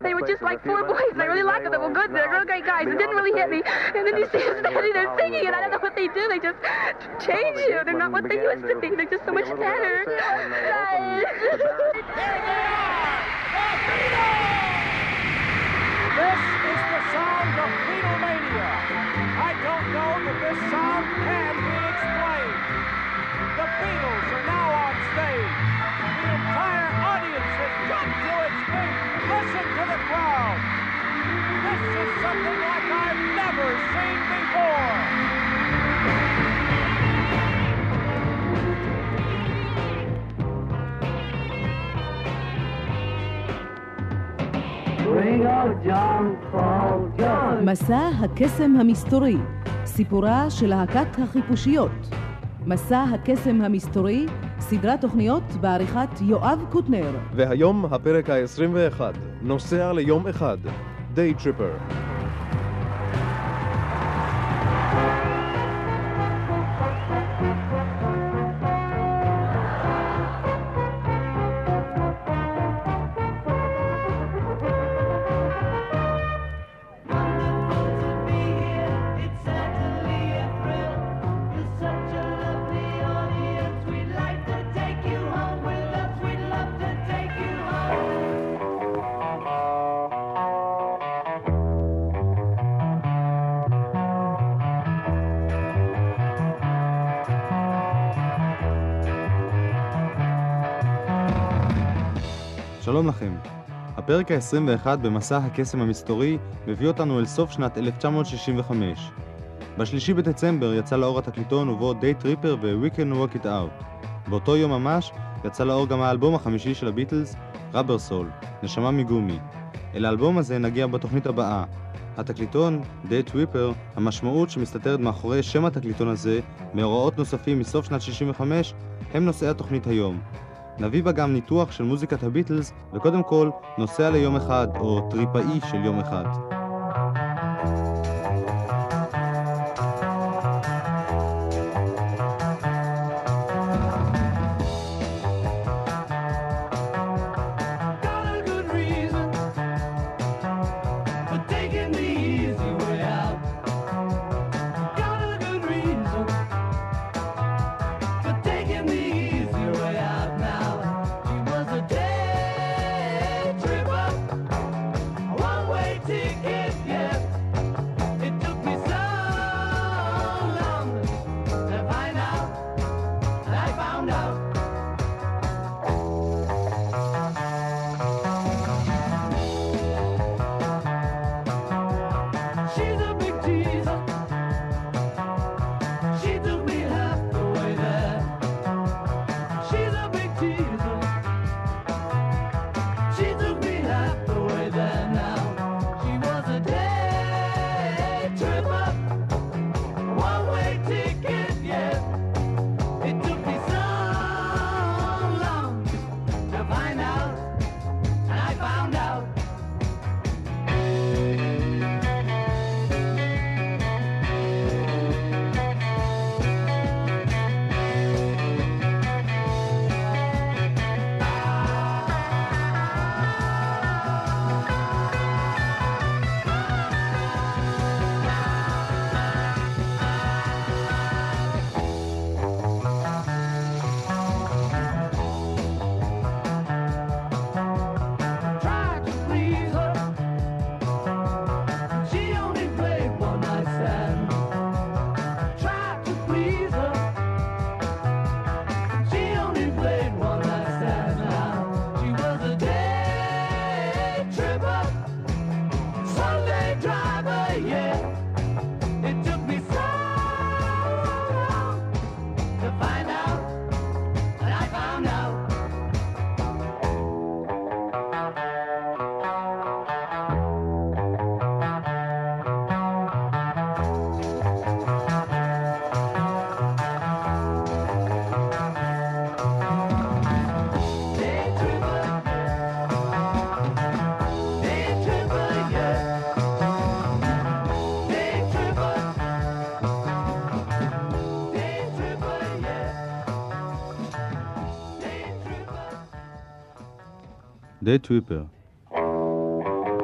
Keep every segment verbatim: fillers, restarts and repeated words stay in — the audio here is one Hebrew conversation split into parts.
They were just like four boys, and I really liked them. They were good. They're real great guys. It didn't really hit me. And then you see them standing there singing, and I don't know what they do. They just change you. They're not what they used to be. They're just so much better. This is the sound of Beatlemania. I don't know that this sound can be explained. The Beatles are now on stage. The entire audience has jumped to its feet. Listen to the crowd. This is something like I've never seen before. מסע הקסם המסתורי, סיפורה של להקת החיפושיות. מסע הקסם המסתורי, סדרת תוכניות בעריכת יואב קוטנר. והיום הפרק ה-עשרים ואחד, נוסע ליום אחד, Day Tripper. שלום לכם. הפרק ה-עשרים ואחד במסע הקסם המסתורי מביא אותנו אל סוף שנת אלף תשע מאות שישים וחמש. בשלישי בדצמבר יצא לאור התקליטון ובו Day Tripper ו-We Can Work It Out. באותו יום ממש יצא לאור גם האלבום החמישי של הביטלס, Rubber Soul, נשמה מגומי. אל האלבום הזה נגיע בתוכנית הבאה. התקליטון, Day Tripper, המשמעות שמסתתרת מאחורי שם התקליטון הזה, מאורעות נוספים מסוף שנת שישים וחמש, הם נושאי התוכנית היום. נביא בה גם ניתוח של מוזיקת הביטלס, וקודם כל נוסע ליום אחד, או טריפאי של יום אחד. Day Tripper.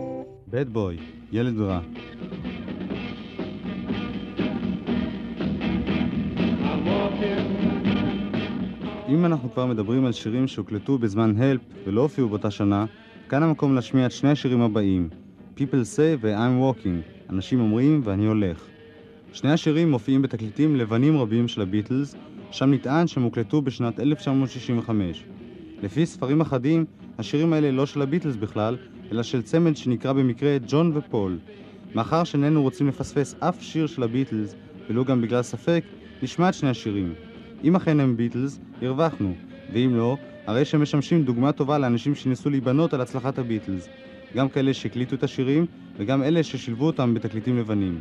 Bad Boy, ילד רע. אם אנחנו כבר מדברים על שירים שהוקלטו בזמן הלפ ולא הופיעו באותה שנה, כאן המקום להשמיע את שני השירים הבאים, People Say ו-I'm Walking, אנשים אומרים ואני הולך. שני השירים מופיעים בתקליטים לבנים רבים של הביטלס, שם נטען שהם הוקלטו בשנת אלף תשע מאות שישים וחמש. לפי ספרים אחדים, השירים האלה לא של הביטלס בכלל, אלא של צמד שנקרא במקרה ג'ון ופול. מאחר שאיננו רוצים לפספס אף שיר של הביטלס, ולא גם בגלל ספק, נשמע את שני השירים. אם אכן הם ביטלס, הרווחנו, ואם לא, הרי שהם משמשים דוגמה טובה לאנשים שניסו להיבנות על הצלחת הביטלס, גם כאלה שהקליטו את השירים, וגם אלה ששילבו אותם בתקליטים לבנים.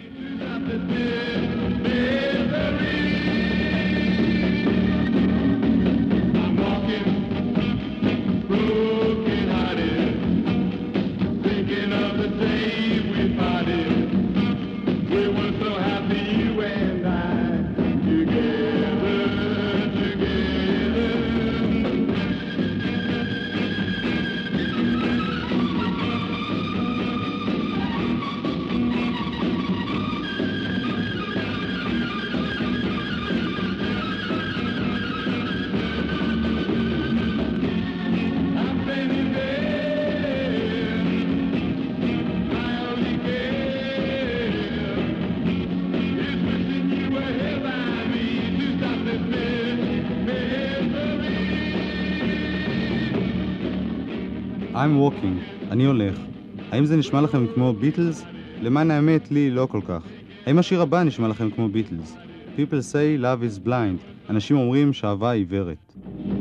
I'm walking, אני הולך. האם זה נשמע לכם כמו ביטלס? למען האמת, לי לא כל כך. האם השיר הבא נשמע לכם כמו ביטלס? People say love is blind. אנשים אומרים שאהבה עיוורת.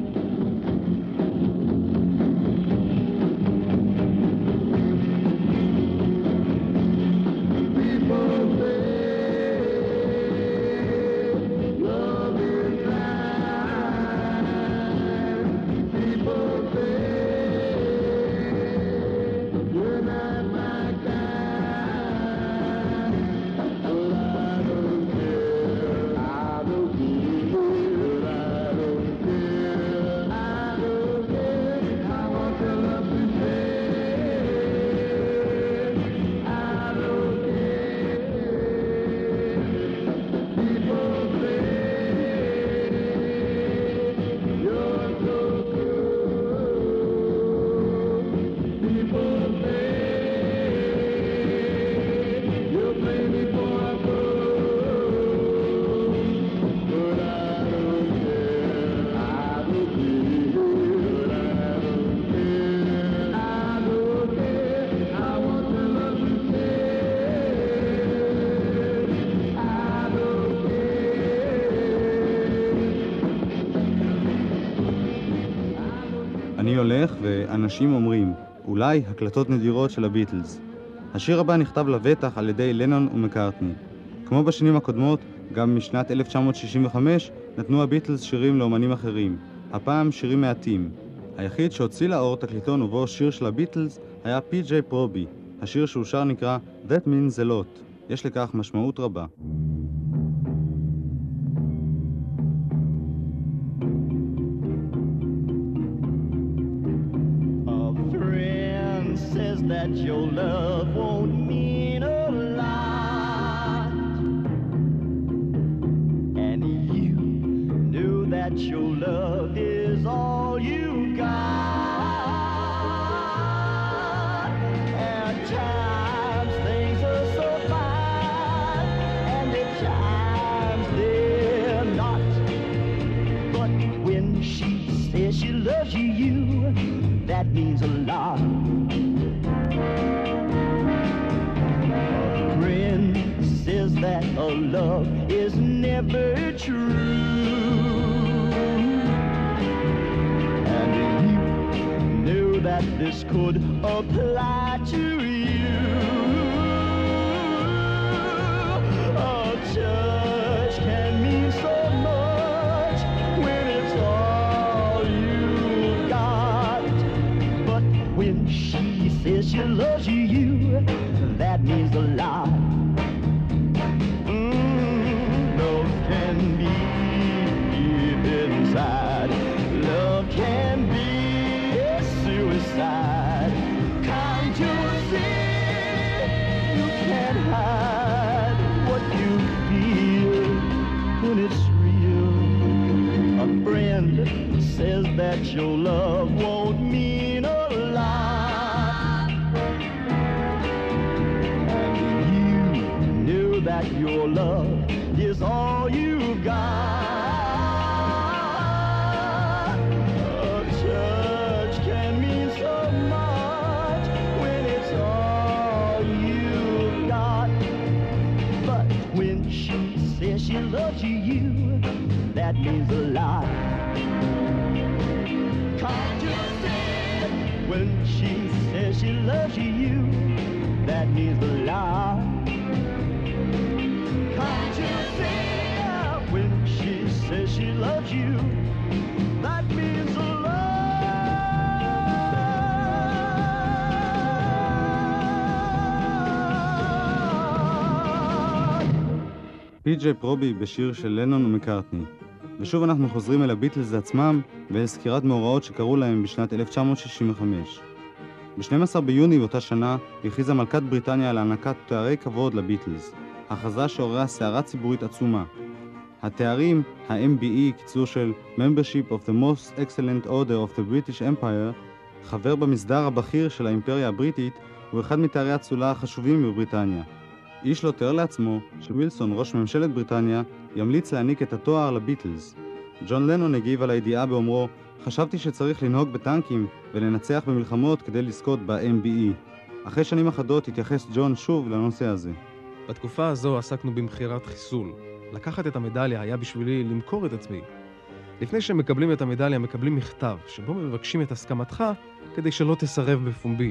אני הולך ואנשים אומרים, אולי הקלטות נדירות של הביטלס. השיר הבא נכתב לבטח על ידי לנון ומקארטני. כמו בשנים הקודמות, גם משנת אלף תשע מאות שישים וחמש נתנו הביטלס שירים לאומנים אחרים, הפעם שירים מעטים. היחיד שהוציא לאור תקליטון ובו שיר של הביטלס היה פי ג'יי פרובי. השיר שהוא שר נקרא That Means a Lot. יש לכך משמעות רבה. That your love won't mean a lot, and you knew that your love is all you got. At times things are so fine, and at times they're not. But when she says she loves you, you that means a lot. Says that a love is never true, and you knew that this could apply to you. A touch can mean so much when it's all you got, but when she says she loves you, you that means a lot. Love can be a suicide. Come to see. your love is all you've got. A church can mean so much when it's all you've got. But when she says she loves you, you, that means a lot. Can't you see it? When she says she loves you, you, that means a lot. Can't you see it? When she says she loves you, that means a lot. פי ג'יי פרובי בשיר של לנון ומקארטני. ושוב אנחנו חוזרים אל הביטלס עצמם ואל סקירת מאורעות שקרו להם בשנת אלף תשע מאות שישים וחמש. ב-שנים עשר ביוני באותה שנה הכריזה מלכת בריטניה על הענקת תוארי כבוד לביטלס, הכרזה שעוררה סערה ציבורית עצומה. התארים, ה-אם בי אי, קיצור של Membership of the Most Excellent Order of the British Empire, חבר במסדר הבכיר של האימפריה הבריטית, הוא אחד מתארי הצולה החשובים בבריטניה. איש לא תיאר לעצמו שווילסון, ראש ממשלת בריטניה, ימליץ להעניק את התואר לביטלס. ג'ון לנון הגיב על הידיעה באומרו, חשבתי שצריך לנהוג בטנקים ולנצח במלחמות כדי לזכות ב-אם בי אי. אחרי שנים אחדות התייחס ג'ון שוב לנושא הזה. בתקופה הזו עסקנו במחירת חיסול. לקחת את המדליה היה בשבילי למכור את עצמי. לפני שהם מקבלים את המדליה מקבלים מכתב שבו מבקשים את הסכמתך כדי שלא תסרב בפומבי.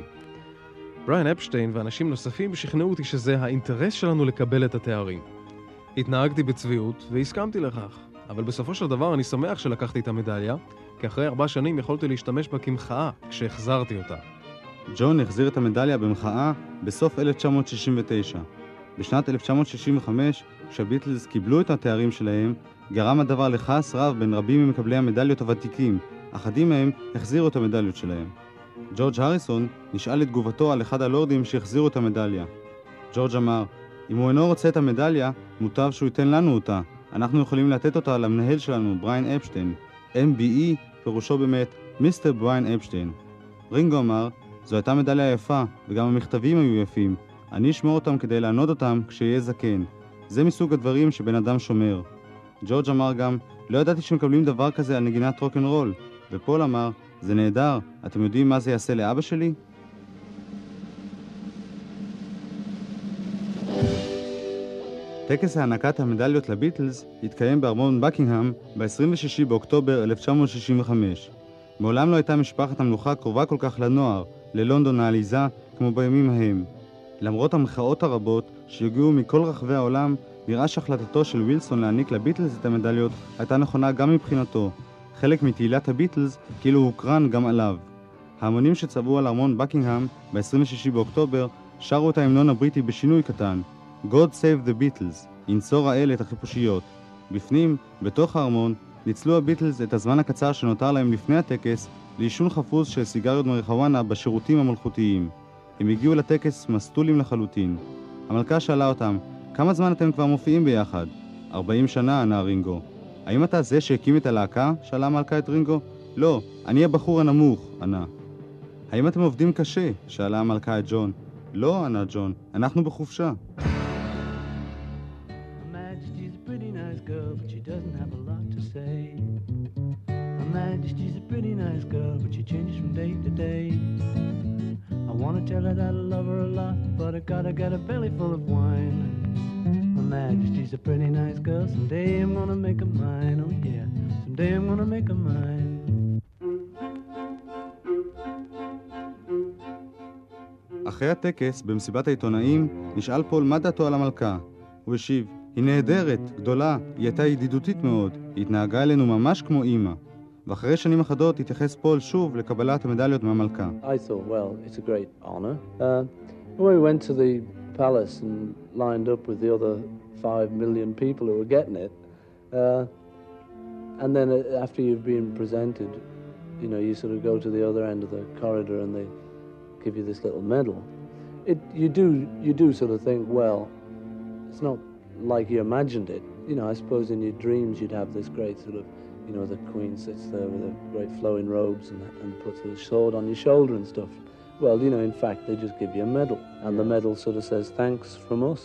בריאן אפשטיין ואנשים נוספים שכנעו אותי שזה האינטרס שלנו לקבל את התארים. התנהגתי בצביעות והסכמתי לכך, אבל בסופו של דבר אני שמח שלקחתי את המדליה, כי אחרי ארבע שנים יכולתי להשתמש בה כמחאה כשהחזרתי אותה. ג'ון החזיר את המדליה במחאה בסוף אלף תשע מאות שישים ותשע. בשנת אלף תשע מאות שישים וחמש, כשהביטלס קיבלו את התארים שלהם, גרם הדבר לכעס רב בין רבים ממקבלי המדליות הוותיקים, אחדים מהם החזירו את המדליות שלהם. ג'ורג' הריסון נשאל את תגובתו על אחד הלורדים שהחזירו את המדליה. ג'ורג' אמר, אם הוא אינו רוצה את המדליה, מוטב שהוא ייתן לנו אותה. אנחנו יכולים לתת אותה למנהל שלנו, בריאן אפשטיין. אם בי אי פירושו באמת מיסטר בריאן אפשטיין. רינגו אמר, זו הייתה מדליה יפה, וגם המכתבים היו יפים. אני אשמור אותם כדי לענוד אותם כשיהיה זקן. זה מסוג הדברים שבן אדם שומר. ג'ורג' אמר גם, לא ידעתי שמקבלים דבר כזה על נגינת רוק'נ'רול. ופול אמר, זה נהדר, אתם יודעים מה זה יעשה לאבא שלי? טקס הענקת המדליות לביטלס התקיים בארמון בקינגהאם ב-עשרים ושישה באוקטובר אלף תשע מאות שישים וחמש. מעולם לא הייתה משפחת המלוכה קרובה כל כך לנוער, ללונדון העליזה, כמו בימים ההם. למרות המחאות הרבות שהגיעו מכל רחבי העולם, נראה שהחלטתו של ווילסון להעניק לביטלס את המדליות הייתה נכונה גם מבחינתו. חלק מתהילת הביטלס כאילו הוקרן גם עליו. ההמונים שצבעו על ארמון בקינגהאם ב-עשרים ושישה באוקטובר שרו את ההמנון הבריטי בשינוי קטן. God save the Beatles, ינצור האל את החיפושיות. בפנים, בתוך הארמון, ניצלו הביטלס את הזמן הקצר שנותר להם לפני הטקס לעישון חפוז של סיגריות מריחואנה בשירותים המלכותיים. הם הגיעו לטקס מסטולים לחלוטין. המלכה שאלה אותם, כמה זמן אתם כבר מופיעים ביחד? ארבעים שנה, ענה רינגו. האם אתה זה שהקים את הלהקה? שאלה המלכה את רינגו. לא, אני הבחור הנמוך, ענה. האם אתם עובדים קשה? שאלה המלכה את ג'ון. לא, ענה ג'ון, אנחנו בחופשה. Majesty's a pretty nice girl, but she changes from day to day. I wanna tell her that I love her a lot, but I gotta get a belly full of wine. My Majesty's a pretty nice girl, someday I'm gonna make her mine, oh yeah, someday I'm gonna make her mine. אחרי הטקס, במסיבת העיתונאים, נשאל פול מה דעתו על המלכה. הוא השיב, היא נהדרת, גדולה, היא הייתה ידידותית מאוד, היא התנהגה אלינו ממש כמו אמא. ואחרי שנים אחדות התייחס פול שוב לקבלת המדליות מהמלכה. I thought, well, it's a great honor. Uh, when we went to the palace and lined up with the other five million people who were getting it, uh, and then after you've been presented, you know, you sort of go to the other end of the corridor and they give you this little medal. It, you do, you do sort of think, well, it's not like you imagined it. You know, I suppose in your dreams you'd have this great sort of, you know, the queen sits there with her great flowing robes and, and puts her sword on your shoulder and stuff. Well, you know, in fact, they just give you a medal. And the medal sort of says, thanks from us.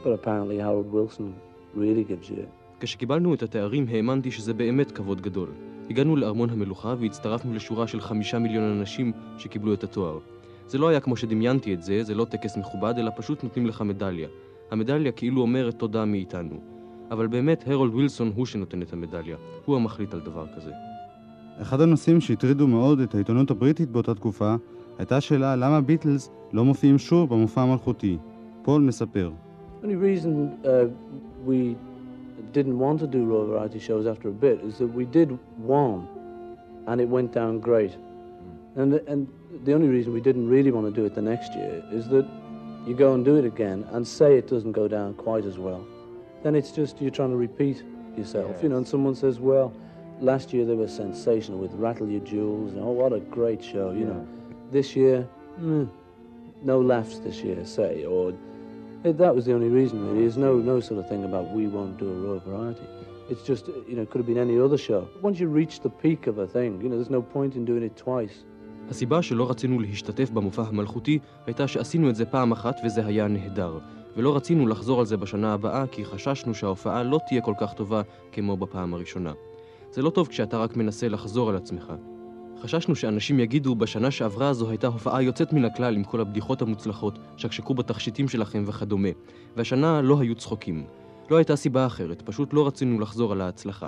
but apparently Harold Wilson really gives you it. כשקיבלנו את התארים האמנתי שזה באמת כבוד גדול. הגענו לארמון המלוכה והצטרפנו לשורה של חמישה מיליון אנשים שקיבלו את התואר. זה לא היה כמו שדמיינתי את זה, זה לא טקס מכובד, אלא פשוט נותנים לך מדליה. המדליה כאילו אומרת תודה מאיתנו. אבל באמת הרולד ווילסון הוא שנותן את המדליה. הוא המחליט על דבר כזה. אחד הנושאים שהטרידו מאוד את העיתונות הבריטית באותה תקופה הייתה השאלה למה ביטלס לא מופיעים שוב במופע המלכותי. פול מספר. The only reason uh, we didn't want to do Royal Variety shows after a bit is that we did one and it went down great. And, and the only reason we didn't really want to do it the next year is that you go and do it again and say it doesn't go down quite as well. Then it's just you're trying to repeat yourself. Yes. You know, and someone says, well, last year they were sensational with Rattle Your Jewels. And, oh, what a great show, you yeah. know. This year, mm, no laughs this year, say. Or it, that was the only reason, really. There's no, no sort of thing about we won't do a Royal Variety. It's just, you know, it could have been any other show. Once you reach the peak of a thing, you know, there's no point in doing it twice. הסיבה שלא רצינו להשתתף במופע המלכותי הייתה שעשינו את זה פעם אחת וזה היה נהדר. ולא רצינו לחזור על זה בשנה הבאה כי חששנו שההופעה לא תהיה כל כך טובה כמו בפעם הראשונה. זה לא טוב כשאתה רק מנסה לחזור על עצמך. חששנו שאנשים יגידו בשנה שעברה זו הייתה הופעה יוצאת מן הכלל עם כל הבדיחות המוצלחות שקשקו בתכשיטים שלכם וכדומה. והשנה לא היו צחוקים. לא הייתה סיבה אחרת, פשוט לא רצינו לחזור על ההצלחה.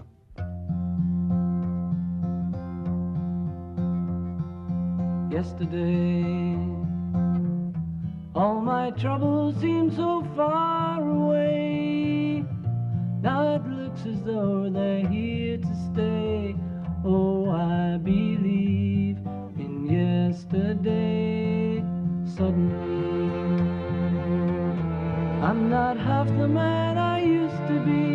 Yesterday, all my troubles seem so far away. Now it looks as though they're here to stay. Oh, I believe in yesterday. Suddenly, I'm not half the man I used to be.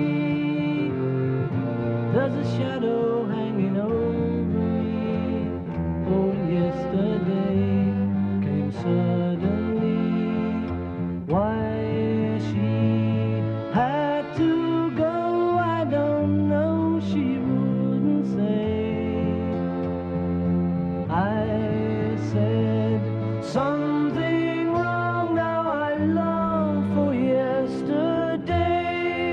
There's a shadow hanging over me. Oh, yesterday came suddenly. Why she had to go, I don't know, she wouldn't say. I said something wrong, now I long for yesterday.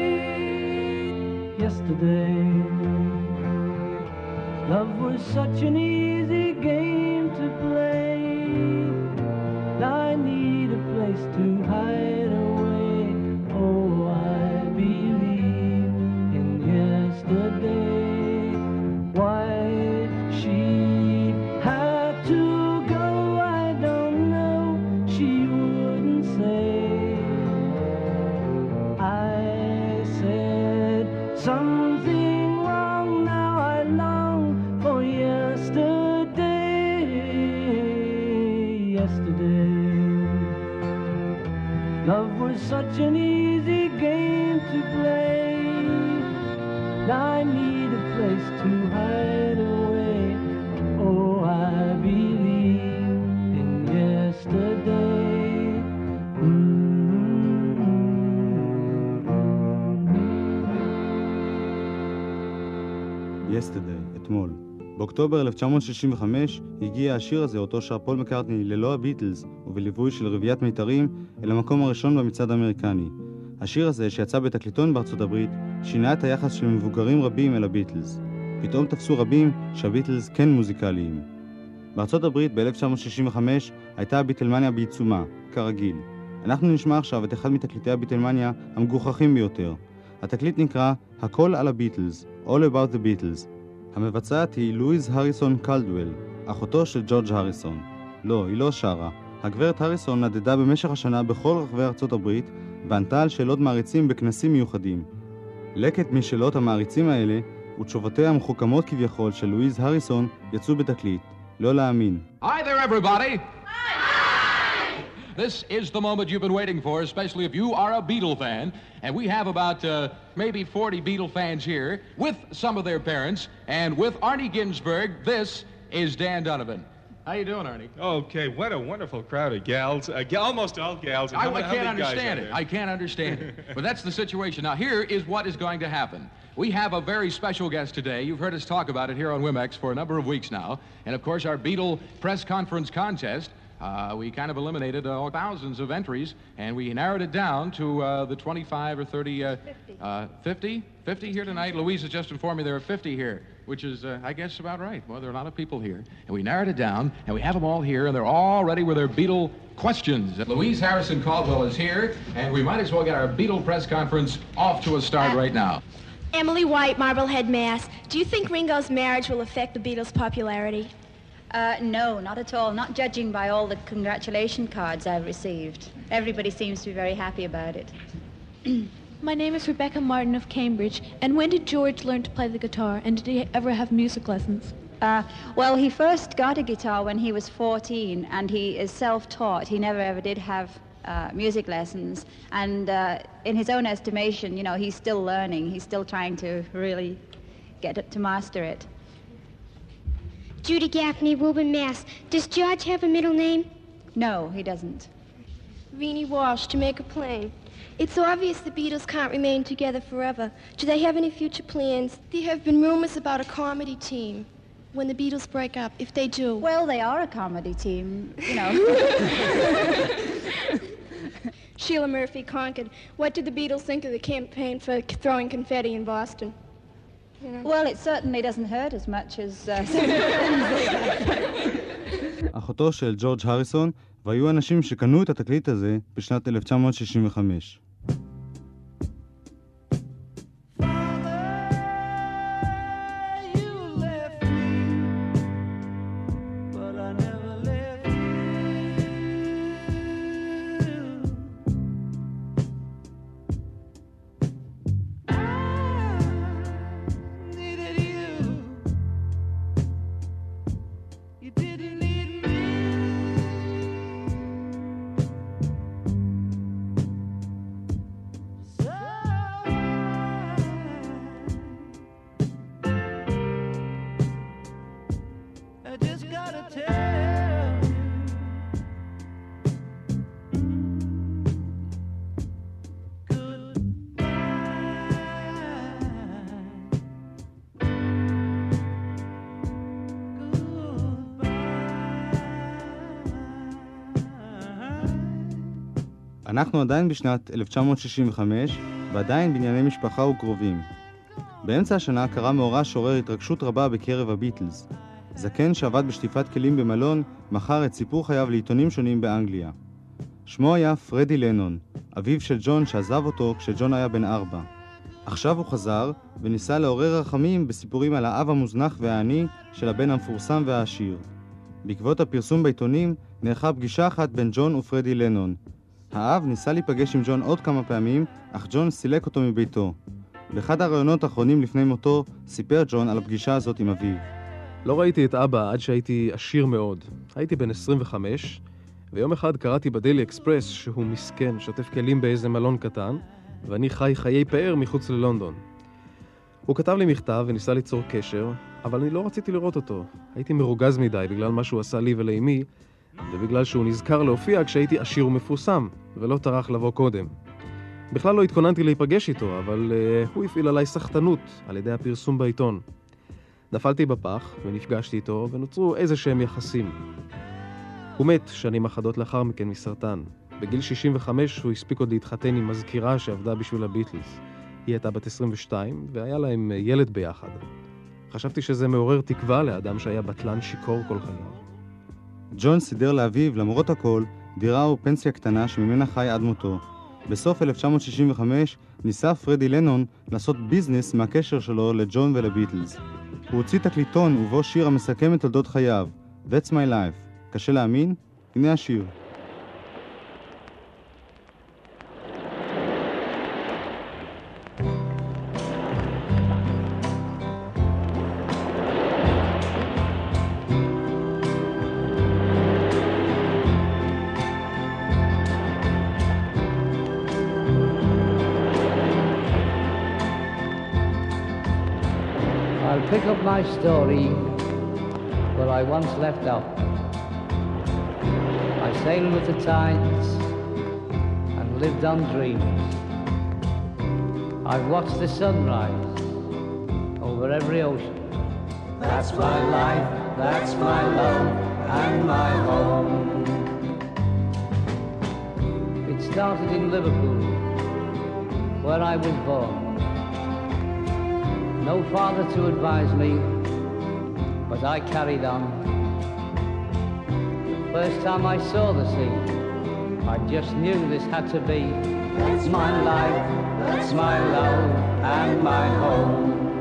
Yesterday, love was such an easy game to play. Now I need a place to hide away. Oh, I believe in yesterday. Why she had to go, I don't know, she wouldn't say. I said something wrong, now I long for yesterday. Yesterday, love was such an easy game to play. Now I need a place to hide away. Oh, I believe in yesterday. Yesterday, אתמול. באוקטובר אלף תשע מאות שישים וחמש הגיע השיר הזה אותו שר פול מקרטני ללא הביטלס ובליווי של רביעיית מיתרים אל המקום הראשון במצעד האמריקני. השיר הזה שיצא בתקליטון בארצות הברית שינה את היחס של מבוגרים רבים אל הביטלס. פתאום תפסו רבים שהביטלס כן מוזיקליים. בארצות הברית ב-אלף תשע מאות שישים וחמש הייתה הביטלמניה בעיצומה, כרגיל. אנחנו נשמע עכשיו את אחד מתקליטי הביטלמניה המגוחכים ביותר. התקליט נקרא הכל על הביטלס, All About the Beatles. המבצעת היא לואיז הריסון קלדוול, אחותו של ג'ורג' הריסון. לא, היא לא שרה. הגברת הריסון נדדה במשך השנה בכל רחבי ארצות הברית וענתה על שאלות מעריצים בכנסים מיוחדים. לקט משאלות המעריצים האלה ותשובותיה המחוכמות כביכול של לואיז הריסון יצאו בתקליט. לא להאמין. Hi there everybody! This is the moment you've been waiting for, especially if you are a Beatle fan. And we have about uh, maybe forty Beatle fans here with some of their parents. And with Arnie Ginsberg, this is Dan Donovan. How you doing, Arnie? Okay, what a wonderful crowd of gals. Uh, g- almost all gals. I, I can't understand it. I can't understand it. But that's the situation. Now, here is what is going to happen. We have a very special guest today. You've heard us talk about it here on Wimex for a number of weeks now. And, of course, our Beatle press conference contest Uh, we kind of eliminated uh, thousands of entries, and we narrowed it down to uh, the twenty-five or thirty, uh, fifty. Uh, fifty? fifty here tonight. Louise has just informed me there are fifty here, which is, uh, I guess, about right. Well, there are a lot of people here, and we narrowed it down, and we have them all here, and they're all ready with their Beatle questions. Louise Harrison Caldwell is here, and we might as well get our Beatle press conference off to a start uh, right now. Emily White, Marblehead, Mass. Do you think Ringo's marriage will affect the Beatles' popularity? Uh, no, not at all. Not judging by all the congratulation cards I've received. Everybody seems to be very happy about it. My name is Rebecca Martin of Cambridge. And when did George learn to play the guitar? And did he ever have music lessons? Uh, well, he first got a guitar when he was fourteen, and he is self-taught. He never ever did have uh, music lessons. And uh, in his own estimation, you know, he's still learning. He's still trying to really get it, to master it. Judy Gaffney, Woburn, Mass. Does George have a middle name? No, he doesn't. Renee Walsh, Jamaica Plain. It's obvious the Beatles can't remain together forever. Do they have any future plans? There have been rumors about a comedy team when the Beatles break up, if they do. Well, they are a comedy team, you know. Sheila Murphy, Concord. What did the Beatles think of the campaign for throwing confetti in Boston? You know? Well, it certainly doesn't hurt as much as... Uh, אחותו של ג'ורג' הריסון, והיו אנשים שקנו את התקליט הזה בשנת אלף תשע מאות שישים וחמש. אנחנו עדיין בשנת אלף תשע מאות שישים וחמש, ועדיין בענייני משפחה וקרובים. באמצע השנה קרה מאורע שעורר התרגשות רבה בקרב הביטלס. זקן שעבד בשטיפת כלים במלון, מכר את סיפור חייו לעיתונים שונים באנגליה. שמו היה פרדי לנון, אביו של ג'ון שעזב אותו כשג'ון היה בן ארבע. עכשיו הוא חזר וניסה לעורר רחמים בסיפורים על האב המוזנח והעני של הבן המפורסם והעשיר. בעקבות הפרסום בעיתונים נערכה פגישה אחת בין ג'ון ופרדי לנון. האב ניסה להיפגש עם ג'ון עוד כמה פעמים, אך ג'ון סילק אותו מביתו. באחד הראיונות האחרונים לפני מותו סיפר ג'ון על הפגישה הזאת עם אביו. לא ראיתי את אבא עד שהייתי עשיר מאוד. הייתי בן עשרים וחמש, ויום אחד קראתי בדיילי אקספרס שהוא מסכן, שוטף כלים באיזה מלון קטן, ואני חי חיי פאר מחוץ ללונדון. הוא כתב לי מכתב וניסה ליצור קשר, אבל אני לא רציתי לראות אותו. הייתי מרוגז מדי בגלל מה שהוא עשה לי ולאמי, ובגלל שהוא נזכר להופיע כשהייתי עשיר ומפורסם, ולא טרח לבוא קודם. בכלל לא התכוננתי להיפגש איתו, אבל uh, הוא הפעיל עליי סחטנות על ידי הפרסום בעיתון. נפלתי בפח ונפגשתי איתו ונוצרו איזה שהם יחסים. הוא מת שנים אחדות לאחר מכן מסרטן. בגיל שישים וחמש הוא הספיק עוד להתחתן עם מזכירה שעבדה בשביל הביטלס. היא הייתה בת עשרים ושתיים והיה להם ילד ביחד. חשבתי שזה מעורר תקווה לאדם שהיה בטלן שיקור כל חייו. ג'ון סידר לאביו, למרות הכל, דירה ופנסיה קטנה שממנה חי עד מותו. בסוף אלף תשע מאות שישים וחמש ניסה פרדי לנון לעשות ביזנס מהקשר שלו לג'ון ולביטלס. הוא הוציא תקליטון ובו שיר המסכם את תולדות חייו, That's My Life. קשה להאמין? הנה השיר. I'll pick up my story where I once left off. I sailed with the tides and lived on dreams. I've watched the sunrise over every ocean. That's my life, that's my love and my home. started in Liverpool, where I was born. No father to advise me, but I carried on. The first time I saw the sea, I just knew this had to be. That's my life, that's my love, and my home.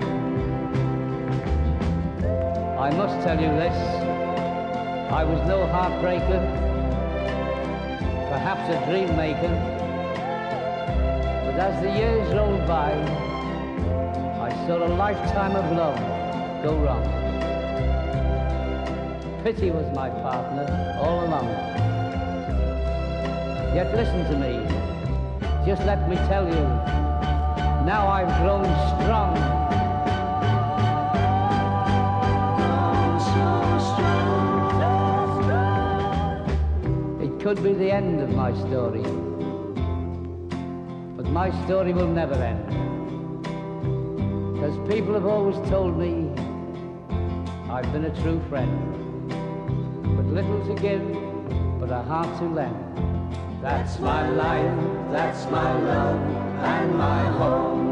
I must tell you this, I was no heartbreaker, perhaps a dream maker, but as the years rolled by, I saw a lifetime of love go wrong. Pity was my partner all along. Yet listen to me, just let me tell you, now I've grown strong. It could be the end of my story, but my story will never end. Because people have always told me I've been a true friend, with little to give, but a heart to lend. That's my life, that's my love, and my home.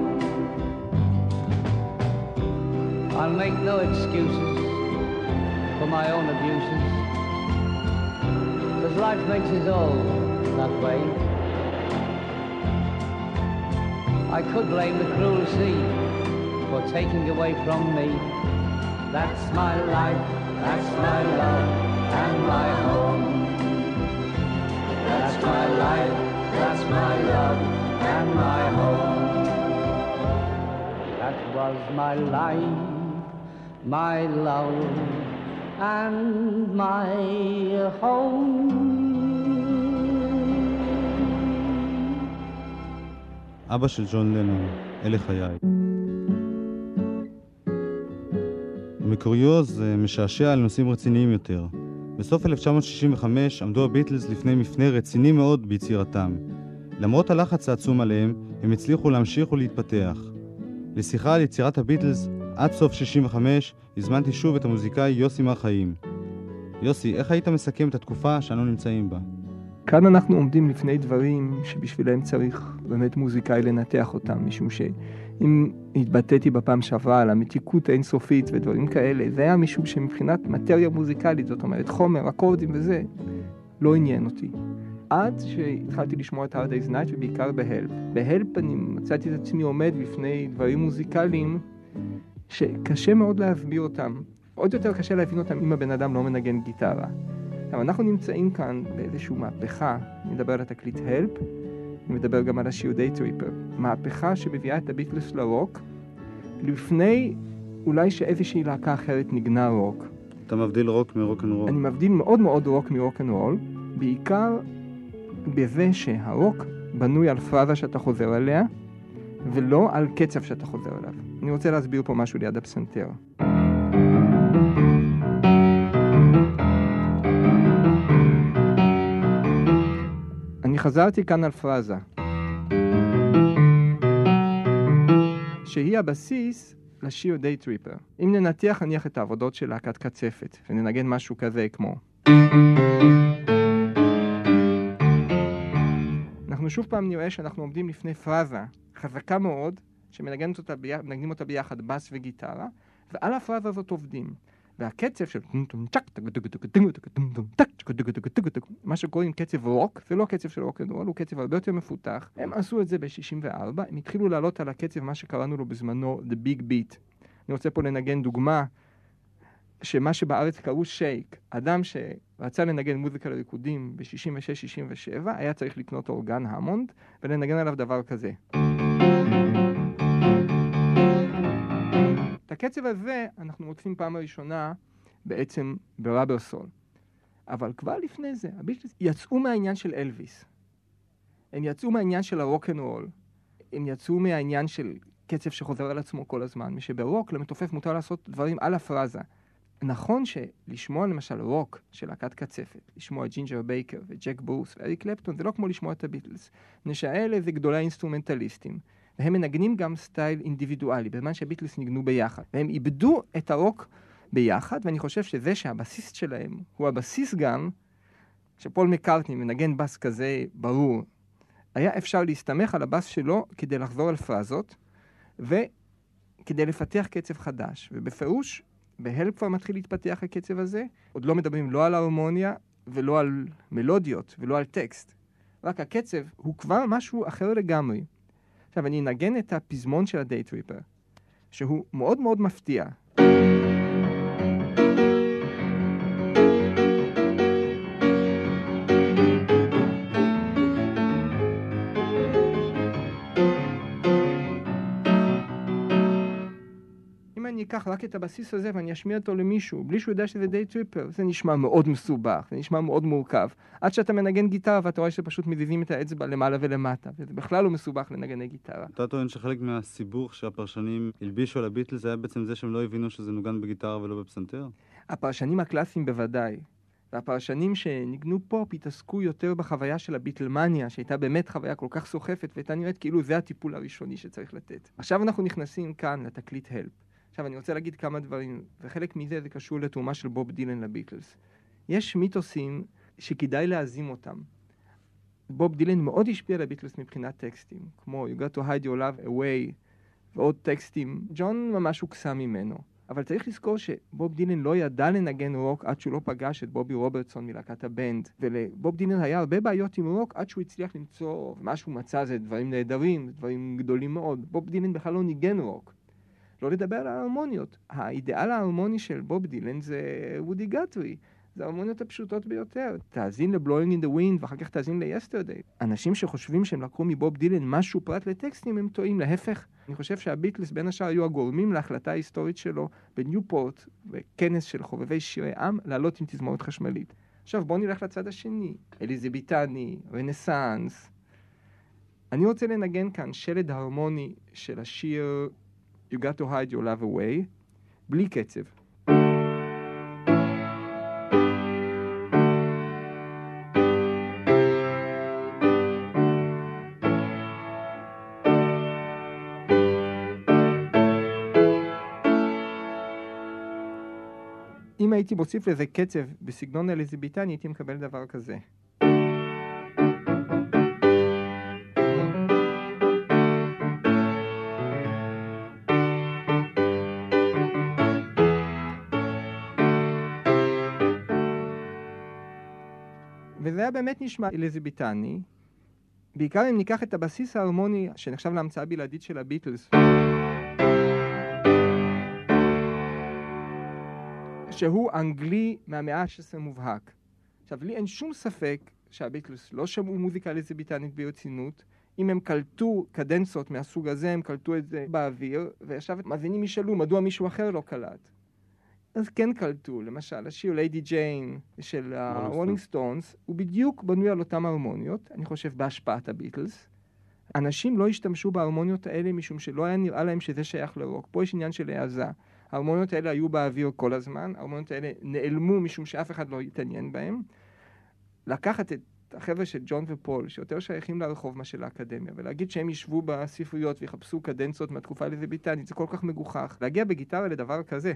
I'll make no excuses for my own abuses, because life makes us all that way. I could blame the cruel sea for taking away from me. That's my life, that's my love, and my home. That's my life, that's my love, and my home. That was my life, my love, and my home. אבא של ג'ון לנון, אלה חיי. מקוריוז משעשע על נושאים רציניים יותר. בסוף אלף תשע מאות שישים וחמש עמדו הביטלס לפני מפנה רציני מאוד ביצירתם. למרות הלחץ העצום עליהם, הם הצליחו להמשיך ולהתפתח. לשיחה על יצירת הביטלס עד סוף שישים וחמש הזמנתי שוב את המוזיקאי יוסי מר חיים. יוסי, איך היית מסכם את התקופה שאנו נמצאים בה? כאן אנחנו עומדים לפני דברים שבשבילם צריך באמת מוזיקאי לנתח אותם, משום שאם התבטאתי בפעם שעברה על המתיקות האינסופית ודברים כאלה, זה היה משום שמבחינת מטריה מוזיקלית, זאת אומרת חומר, אקורדים וזה, לא עניין אותי. עד שהתחלתי לשמוע את Hard Day's Night ובעיקר בהלפ. בהלפ אני מצאתי את עצמי עומד בפני דברים מוזיקליים שקשה מאוד להסביר אותם. עוד יותר קשה להבין אותם אם הבן אדם לא מנגן גיטרה. אבל אנחנו נמצאים כאן באיזושהי מהפכה, אני מדבר על התקליט הלפ, אני מדבר גם על השיר Day Tripper, מהפכה שמביאה את הביטלס לרוק, לפני אולי שאיזושהי להקה אחרת נגנה רוק. אתה מבדיל רוק מרוק אנד רול? אני מבדיל מאוד מאוד רוק מרוק אנד רול, בעיקר בזה שהרוק בנוי על פרזה שאתה חוזר עליה, ולא על קצב שאתה חוזר עליו. אני רוצה להסביר פה משהו ליד הפסנתר. אני חזרתי כאן על פרזה, שהיא הבסיס לשיר Day Tripper. אם ננתח נניח את העבודות של להקת קצפת, וננגן משהו כזה כמו... אנחנו שוב פעם נראה שאנחנו עומדים לפני פרזה חזקה מאוד, שמנגנים אותה, ביח... אותה ביחד בס וגיטרה, ועל הפרזה הזאת עובדים. והקצב של מה שקוראים קצב רוק, זה לא קצב של רוק אנד רול, הוא קצב הרבה יותר מפותח. הם עשו את זה ב-שישים וארבע, הם התחילו לעלות על הקצב מה שקראנו לו בזמנו The Big Beat. אני רוצה פה לנגן דוגמה שמה שבארץ קראו שייק. אדם שרצה לנגן מוזיקה לריקודים ב-שישים ושש שישים ושבע היה צריך לקנות אורגן המונד ולנגן עליו דבר כזה. את הקצב הזה אנחנו מוצאים פעם הראשונה בעצם בראבר סול. אבל כבר לפני זה, הביטלס יצאו מהעניין של אלוויס. הם יצאו מהעניין של הרוק אנד רול. הם יצאו מהעניין של קצב שחוזר על עצמו כל הזמן. משברוק למתופף מותר לעשות דברים על הפרזה. נכון שלשמוע למשל רוק של להקת קצפת, לשמוע ג'ינג'ר בייקר וג'ק ברוס ואריק קלפטון, זה לא כמו לשמוע את הביטלס. נשאלה זה גדולי האינסטרומנטליסטים. והם מנגנים גם סטייל אינדיבידואלי, בזמן שהביטלס ניגנו ביחד. והם איבדו את הרוק ביחד, ואני חושב שזה שהבסיס שלהם הוא הבסיס גם, שפול מקארטני מנגן בס כזה ברור, היה אפשר להסתמך על הבאס שלו כדי לחזור על פרזות, וכדי לפתח קצב חדש. ובפירוש, בהלפ כבר מתחיל להתפתח הקצב הזה, עוד לא מדברים לא על ההרמוניה, ולא על מלודיות, ולא על טקסט. רק הקצב הוא כבר משהו אחר לגמרי. עכשיו, אני אנגן את הפזמון של הדיי טריפר, שהוא מאוד מאוד מפתיע. אני אקח רק את הבסיס הזה ואני אשמיע אותו למישהו, בלי שהוא יודע שזה דיי טריפר, זה נשמע מאוד מסובך, זה נשמע מאוד מורכב. עד שאתה מנגן גיטרה ואתה רואה שפשוט מזיזים את האצבע למעלה ולמטה, וזה בכלל לא מסובך לנגני גיטרה. אתה טוען שחלק מהסיבוך שהפרשנים הלבישו על הביטלס היה בעצם זה שהם לא הבינו שזה נוגן בגיטרה ולא בפסנתר? הפרשנים הקלאסיים בוודאי. והפרשנים שניגנו פופ התעסקו יותר בחוויה של הביטלמניה, שהייתה באמת חוויה כל כך סוחפת, והייתה נראית כאילו זה הטיפול הראשוני שצריך לתת. עכשיו אנחנו נכנסים כאן לתקליט הלפ. עכשיו אני רוצה להגיד כמה דברים, וחלק מזה זה קשור לתרומה של בוב דילן לביטלס. יש מיתוסים שכדאי להזים אותם. בוב דילן מאוד השפיע על הביטלס מבחינת טקסטים, כמו You got to hide your love away, ועוד טקסטים. ג'ון ממש הוקסם ממנו. אבל צריך לזכור שבוב דילן לא ידע לנגן רוק עד שהוא לא פגש את בובי רוברטסון מלהקת הבנד. ולבוב דילן היה הרבה בעיות עם רוק עד שהוא הצליח למצוא מה שהוא מצא, זה דברים נהדרים, דברים גדולים מאוד. בוב דילן בכלל לא ניגן רוק. לא לדבר על ההרמוניות. האידאל ההרמוני של בוב דילן זה וודי גת'רי. זה ההרמוניות הפשוטות ביותר. תאזין ל-Blowing in the Wind ואחר כך תאזין ל-Yesterday. אנשים שחושבים שהם לקחו מבוב דילן משהו פרט לטקסטים הם טועים. להפך, אני חושב שהביטלס בין השאר היו הגורמים להחלטה ההיסטורית שלו בניופורט וכנס של חובבי שירי עם לעלות עם תזמורת חשמלית. עכשיו בואו נלך לצד השני. אליזבתני, רנסאנס. אני רוצה לנגן כאן שלד הרמוני של השיר You got to hide your love away, בלי קצב. אם הייתי מוסיף לזה קצב בסגנון אליזבתני, הייתי מקבל דבר כזה. וזה היה באמת נשמע אליזבתני, בעיקר אם ניקח את הבסיס ההרמוני שנחשב להמצאה בלעדית של הביטלס, שהוא אנגלי מהמאה ה-שש עשרה מובהק. עכשיו, לי אין שום ספק שהביטלס לא שמעו מוזיקה אליזבתנית ברצינות. אם הם קלטו קדנצות מהסוג הזה, הם קלטו את זה באוויר, ועכשיו מאזינים ישאלו מדוע מישהו אחר לא קלט. אז כן קלטו, למשל, השיר ליידי ג'יין של הרולינג סטונס, הוא בדיוק בנוי על אותם הרמוניות, אני חושב בהשפעת הביטלס. אנשים לא השתמשו בהרמוניות האלה משום שלא היה נראה להם שזה שייך לרוק. פה יש עניין של העזה. ההרמוניות האלה היו באוויר כל הזמן, ההרמוניות האלה נעלמו משום שאף אחד לא התעניין בהם. לקחת את החבר'ה של ג'ון ופול, שיותר שייכים לרחוב מה של האקדמיה, ולהגיד שהם ישבו בספריות ויחפשו קדנצות מהתקופה אליזבתנית, זה כל כך מגוחך. להגיע בגיטרה לדבר כזה.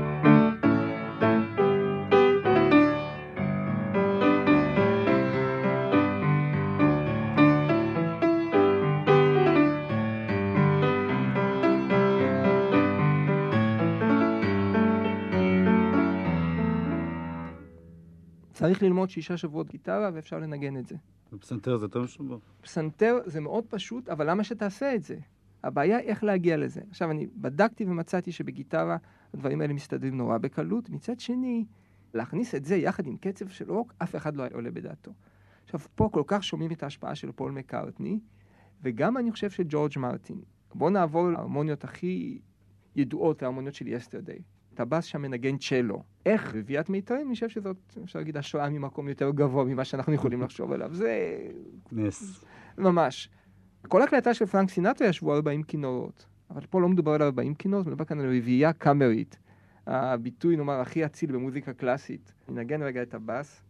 צריך ללמוד שישה שבועות גיטרה ואפשר לנגן את זה. בפסנתר זה יותר משובח. פסנתר זה מאוד פשוט, אבל למה שתעשה את זה? הבעיה היא איך להגיע לזה. עכשיו, אני בדקתי ומצאתי שבגיטרה הדברים האלה מסתדרים נורא בקלות. מצד שני, להכניס את זה יחד עם קצב של רוק, אף אחד לא עולה בדעתו. עכשיו, פה כל כך שומעים את ההשפעה של פול מקארטני, וגם אני חושב של ג'ורג' מרטין. בואו נעבור להרמוניות הכי ידועות, להרמוניות של Yesterday. הבאס שם מנגן צ'לו. איך רביעיית מיתרים? אני חושב שזאת, אפשר להגיד, השראה ממקום יותר גבוה ממה שאנחנו יכולים לחשוב עליו. זה... נס. ממש. כל הקלטה של פרנק סינטרה ישבו ארבעים כינורות. אבל פה לא מדובר על ארבעים כינורות, מדובר כאן על רביעייה קאמרית. הביטוי, נאמר, הכי אציל במוזיקה קלאסית. ננגן רגע את הבאס.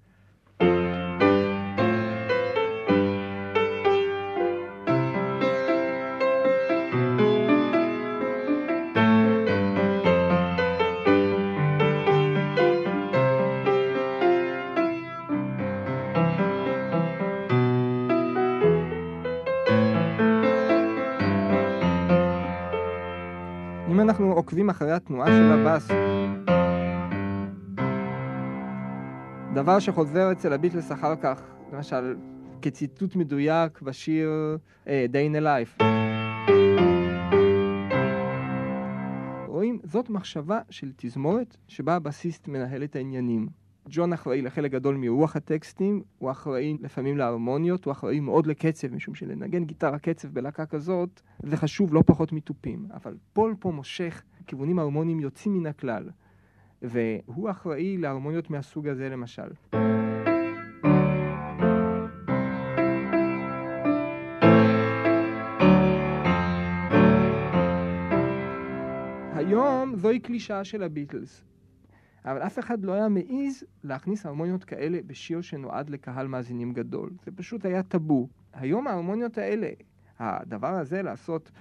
אנחנו עוקבים אחרי התנועה של הבאס, דבר שחוזר אצל הביטלס אחר כך, למשל, כציטוט מדויק בשיר uh, Day in a Life. רואים, זאת מחשבה של תזמורת שבה הבסיסט מנהל את העניינים. ג'ון אחראי לחלק גדול מרוח הטקסטים, הוא אחראי לפעמים להרמוניות, הוא אחראי מאוד לקצב, משום שלנגן גיטרה קצב בלהקה כזאת, זה חשוב לא פחות מטופים. אבל פול פה מושך כיוונים הרמוניים יוצאים מן הכלל, והוא אחראי להרמוניות מהסוג הזה למשל. היום זוהי קלישאה של הביטלס, אבל אף אחד לא היה מעיז להכניס הרמוניות כאלה בשיר שנועד לקהל מאזינים גדול. זה פשוט היה טאבו. היום ההרמוניות האלה, הדבר הזה לעשות,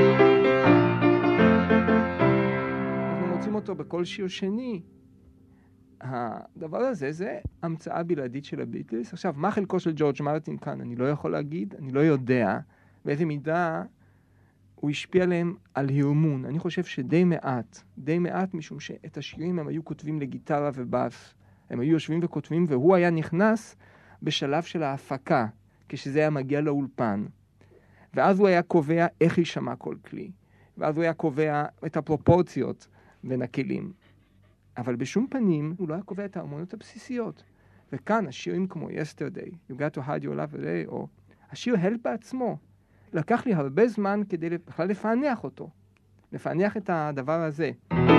אנחנו מוצאים אותו בכל שיר שני. הדבר הזה זה המצאה בלעדית של הביטלס. עכשיו, מה חלקו של ג'ורג' מרטין כאן? אני לא יכול להגיד, אני לא יודע באיזה מידה הוא השפיע עליהם על הרמון. אני חושב שדי מעט, די מעט, משום שאת השירים הם היו כותבים לגיטרה ובאס. הם היו יושבים וכותבים, והוא היה נכנס בשלב של ההפקה, כשזה היה מגיע לאולפן. ואז הוא היה קובע איך יישמע כל כלי. ואז הוא היה קובע את הפרופורציות בין הכלים. אבל בשום פנים הוא לא היה קובע את ההרמוניות הבסיסיות. וכאן השירים כמו Yesterday, You Got to Hide Your Love Away, או השיר Help בעצמו, לקח לי הרבה זמן כדי בכלל לפענח אותו. לפענח את הדבר הזה.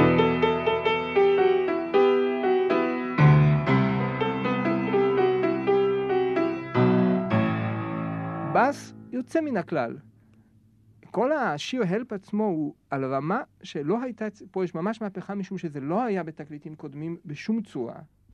בס יוצא מן הכלל. כל השיר Help עצמו הוא על רמה שלא הייתה, פה יש ממש מהפכה משום שזה לא היה בתקליטים קודמים בשום צורה.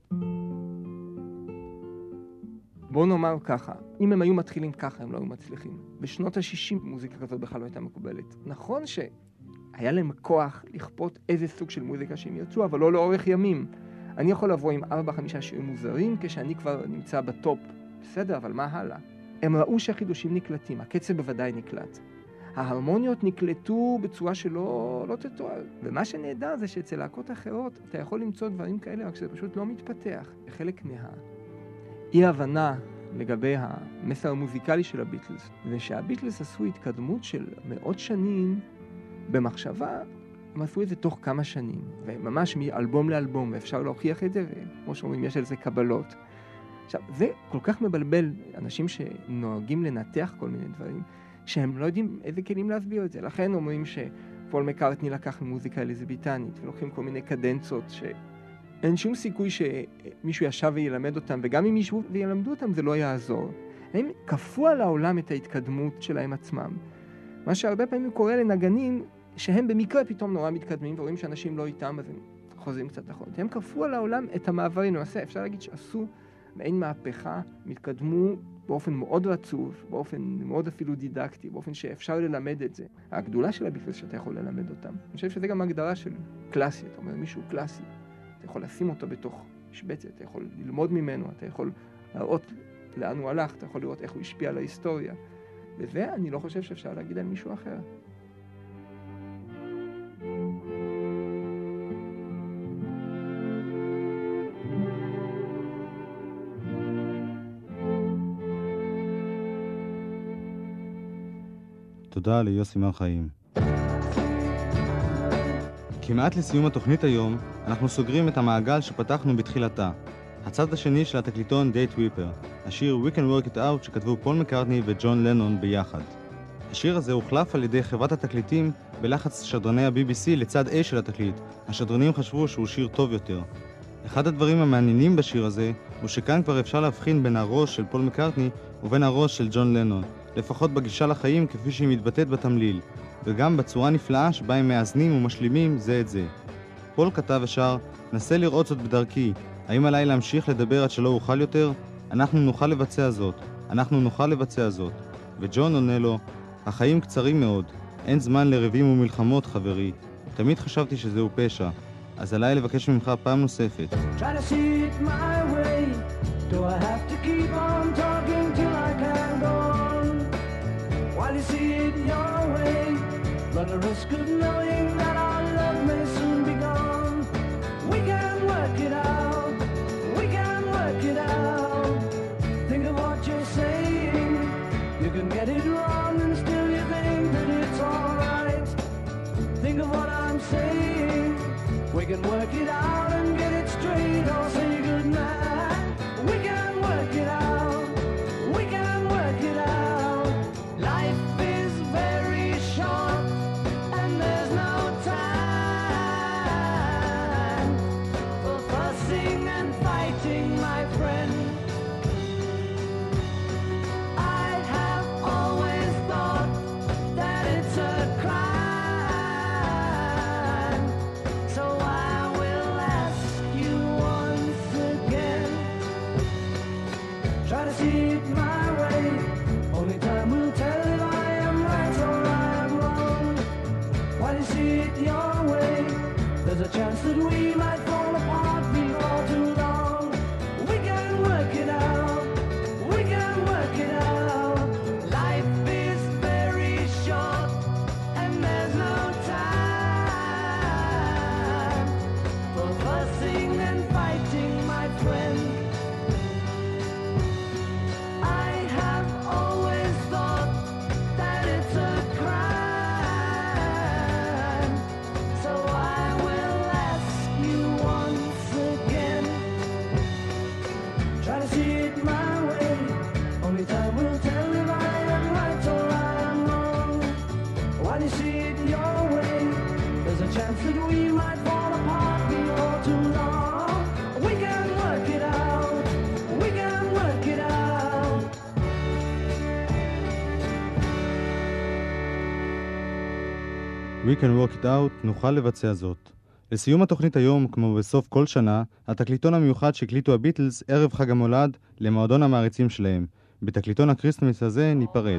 בואו נאמר ככה, אם הם היו מתחילים ככה הם לא היו מצליחים. בשנות ה-שישים מוזיקה כזאת בכלל לא הייתה מקובלת. נכון שהיה להם כוח לכפות איזה סוג של מוזיקה שהם יצאו, אבל לא לאורך ימים. אני יכול לבוא עם ארבע חמישה שירים מוזרים כשאני כבר נמצא בטופ. בסדר, אבל מה הלאה? הם ראו שהחידושים נקלטים, הקצב בוודאי נקלט. ההרמוניות נקלטו בצורה שלא לא תתואר. ומה שנהדר זה שאצל להקות אחרות אתה יכול למצוא דברים כאלה, רק שזה פשוט לא מתפתח. חלק מה... אי הבנה לגבי המסר המוזיקלי של הביטלס, ושהביטלס עשו התקדמות של מאות שנים במחשבה, הם עשו את זה תוך כמה שנים, וממש מאלבום לאלבום, ואפשר להוכיח את זה, וכמו שאומרים, יש על זה קבלות. עכשיו, זה כל כך מבלבל אנשים שנוהגים לנתח כל מיני דברים, שהם לא יודעים איזה כלים להסביר את זה. לכן אומרים שפול מקארטני לקח ממוזיקה אליזבתנית, ולוקחים כל מיני קדנצות ש... אין שום סיכוי שמישהו ישב וילמד אותם, וגם אם מישהו וילמדו אותם זה לא יעזור. הם כפו על העולם את ההתקדמות שלהם עצמם. מה שהרבה פעמים קורה לנגנים, שהם במקרה פתאום נורא מתקדמים, ורואים שאנשים לא איתם, אז הם חוזרים קצת נכון. הם כפו על העולם את המעברים. למעשה, אפשר להגיד שעשו מעין מהפכה, מתקדמו באופן מאוד רצוף, באופן מאוד אפילו דידקטי, באופן שאפשר ללמד את זה. הגדולה של הביטלס שאתה יכול ללמד אותם. אני חושב שזה גם הגדרה של קלאסי, אתה אומר, מישהו קלאסי. אתה יכול לשים אותו בתוך משבצת, אתה יכול ללמוד ממנו, אתה יכול להראות לאן הוא הלך, אתה יכול לראות איך הוא השפיע על ההיסטוריה. וזה אני לא חושב שאפשר להגיד על מישהו אחר. תודה ליוסי מר חיים. כמעט לסיום התוכנית היום, אנחנו סוגרים את המעגל שפתחנו בתחילתה. הצד השני של התקליטון Date Reaper, השיר We Can Work It Out שכתבו פול מקארטני וג'ון לנון ביחד. השיר הזה הוחלף על ידי חברת התקליטים בלחץ שדרני ה-בי בי סי לצד A של התקליט. השדרנים חשבו שהוא שיר טוב יותר. אחד הדברים המעניינים בשיר הזה הוא שכאן כבר אפשר להבחין בין הראש של פול מקארטני ובין הראש של ג'ון לנון, לפחות בגישה לחיים כפי שהיא מתבטאת בתמליל, וגם בצורה נפלאה שבה הם מאזנים ומשלימים זה את זה. פול כתב ושר, נסה לראות זאת בדרכי, האם עליי להמשיך לדבר עד שלא אוכל יותר? אנחנו נוכל לבצע זאת, אנחנו נוכל לבצע זאת. וג'ון עונה לו, החיים קצרים מאוד, אין זמן לריבים ומלחמות חברי, תמיד חשבתי שזהו פשע, אז עליי לבקש ממך פעם נוספת. Try to see it my way. Do I have to keep on talking till I can go on? While you see it your way, run the risk of knowing that I'll We Can Work It Out, נוכל לבצע זאת. לסיום התוכנית היום, כמו בסוף כל שנה, התקליטון המיוחד שהקליטו הביטלס ערב חג המולד למועדון המעריצים שלהם. בתקליטון הקריסטמס הזה ניפרד.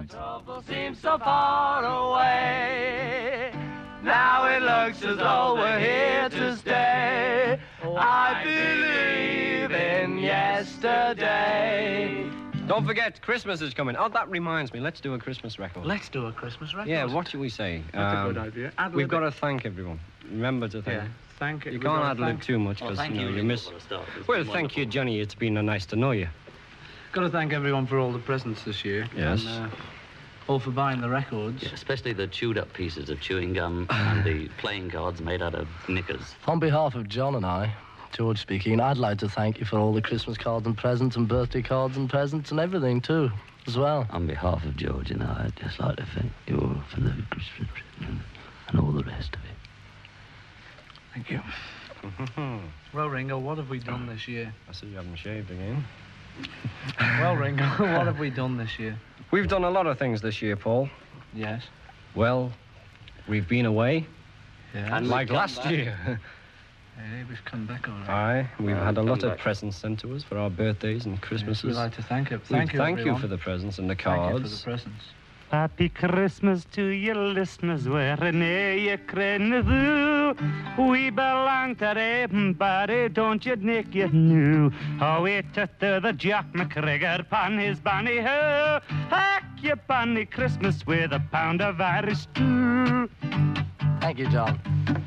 Now it looks as though we're here to stay. I believe in yesterday. Don't forget, Christmas is coming. Oh, that reminds me. Let's do a Christmas record. Let's do a Christmas record. Yeah, what should we say? That's um, a good idea. Ad we've got lib to thank everyone. Remember to thank. Yeah, thank it. You We've can't got ad to lib thank- too much Well, because thank you, know, you, you Ringo, miss. for the start. It's Well, been thank you, wonderful. Johnny. It's been uh, nice to know you. Got to thank everyone for all the presents this year. Yes. And, uh, all for buying the records. Yeah, especially the chewed up pieces of chewing gum and the playing cards made out of knickers. On behalf of John and I, George speaking, I'd like to thank you for all the Christmas cards and presents and birthday cards and presents and everything too, as well. On behalf of George and I, I'd just like to thank you all for the Christmas present and all the rest of it. Thank you. Well, Ringo, what have we done this year? I see you haven't shaved again. Well, Ringo, what have we done this year? We've done a lot of things this year, Paul. Yes. Well, we've been away. Yeah. And like last year. Hey, we've come back all right. Aye, we've Oh, had a come lot of back. presents sent to us for our birthdays and Christmases. We'd like to thank you. We Thank you, Thank you everyone. for the presents and the Thank you cards. for the presents. Happy Christmas to you listeners, wherever you can do. We belong to everybody, don't you, Nick, you knew. How we to the Jack McGregor pan his banny ho. Hack your banny Christmas with a pound of Irish stew. Thank you, John.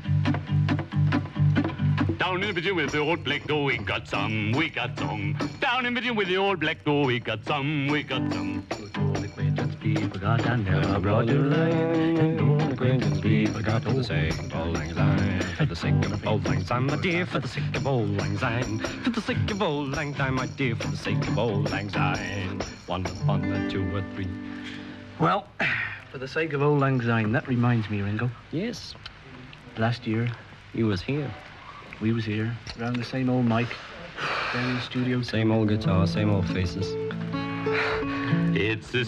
Down in between with the old black dough, we got some, we got some. Down in between with the old black dough, we got some, we got some. People got down there, I brought you line, and all acquaintance people got For the sake of old lang syne, for the sake of old lang syne, my dear, for the sake of old lang syne, for the sake of old lang syne, my dear, for the sake of old lang syne. One upon the two or three. Well, for the sake of old Lang Syne, that reminds me, Ringo. Yes. Last year, he was here. We was here, around the same old mic, there in the studio. Same old guitar, same old faces. It's the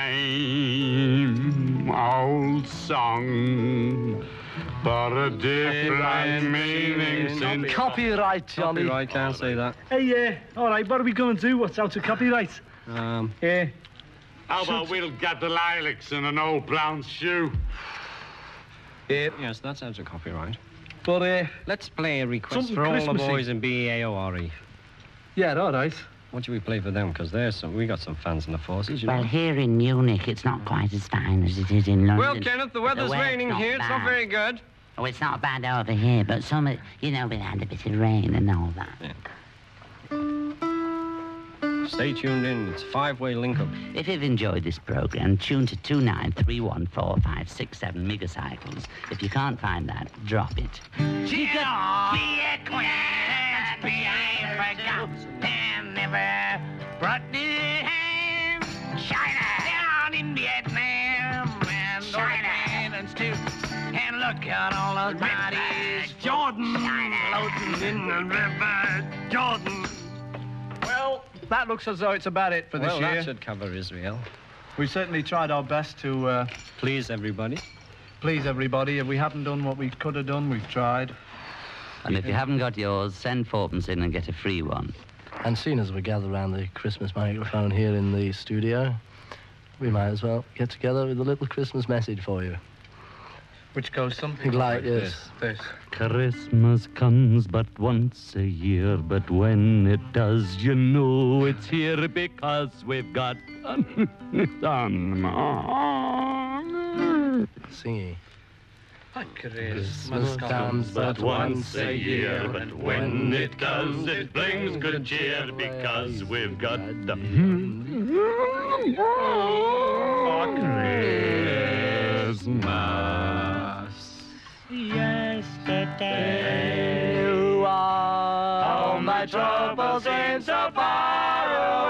same old song, but a different meaning since... Copyright, Johnny. Copyright, can't say that. Hey, yeah, uh, all right, what are we going to do? What's out of copyright? Um, yeah. How about we'll get the lilacs in an old brown shoe? Yeah. Yes, that's out of copyright. But, uh... Let's play a request something for all the Christmassy. boys in B A O R E. Yeah, all right. What do we play for them? Because there's some... We got some fans in the forces, you Well, know. here in Munich, it's not quite as fine as it is in London. Well, Kenneth, the weather's weather's raining not here. It's not bad. very good. Oh, it's not bad over here, but some, of- you know, we had a bit of rain and all that. Stay tuned in. It's a five-way link-up. If you've enjoyed this program, tune to two nine three one four five six seven megacycles. If you can't find that, drop it. Be acquainted, be forgot, and never brought the hand. China down in Vietnam, and China islands too. And look at all those bodies, Jordan, floating in the river, Jordan. Well, that looks as though it's about it for this well, year. that should cover Israel. We certainly tried our best to uh, Please everybody. please everybody. If we haven't done what we could have done, we've tried. And if you haven't got yours, send fourpence in and get a free one. And seeing as we gather around the Christmas microphone here in the studio, we might as well get together with a little Christmas message for you. Which goes something Like like this. this. Christmas comes but once a year, but when it does, you know it's here because we've got some. Singing. Christmas comes but once a year, but when it does, it brings good cheer because we've got the Christmas. Yesterday, all my troubles seem so far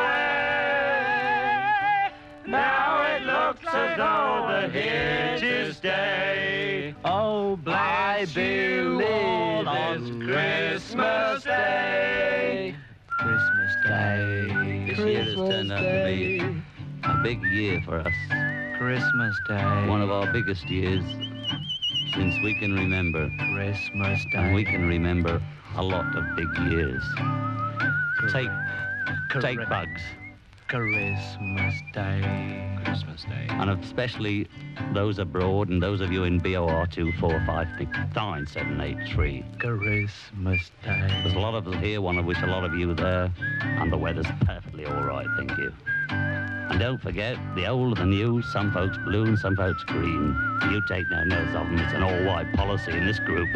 away. Now it looks as though they're here to stay. Oh, bless I you believe all it's on Christmas Day. Christmas Day. This year has turned out to be a big year for us. Christmas Day. One of our biggest years since we can remember. Christmas Day. And we can remember a lot of big years. Take, take bugs. Christmas Day. Christmas Day. And especially those abroad and those of you in B O R two four five nine seven eight three. Christmas Day. There's a lot of us here, one of which a lot of you there, and the weather's perfectly all right, thank you. And don't forget, the old and the new, some folks blue and some folks green. You take no notice of them, it's an all-white policy in this group.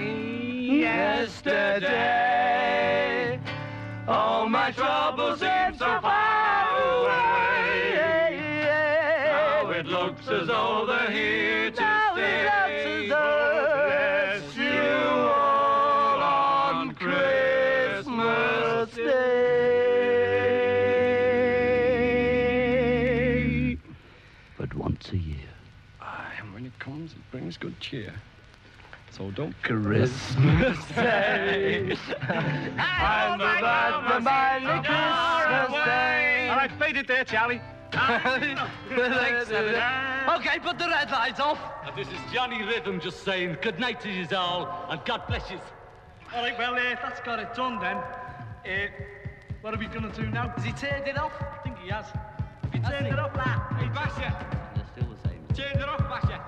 Yesterday, all my troubles seem so far away. Now it looks as though they're here to stay. Bless you all on Christmas Day. But once a year. Aye, and when it comes, it brings good cheer. So don't Christmas Day. I'm about to buy the Christmas Day. All right, fade it there, Charlie. Thanks, Senator. Okay, put the red lights off. Uh, this is Johnny Rhythm just saying good night to you all, and God bless you. All right, well, uh, that's got it done then. Uh, what are we going to do now? Has he turned it off? I think he has. Have you turned it off, lad? Hey, Basha. They're still the same. Turned it off, Basha.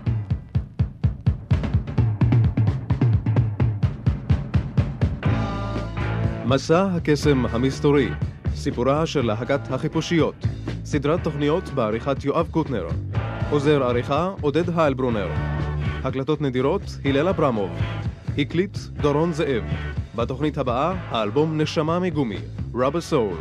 מסע הקסם המסתורי, סיפורה של להקת החיפושיות, סדרת תוכניות בעריכת יואב קוטנר, עוזר עריכה עודד היילברונר, הקלטות נדירות הלל אברמוב, הקליט דורון זאב. בתוכנית הבאה האלבום נשמה מגומי, Rubber Soul.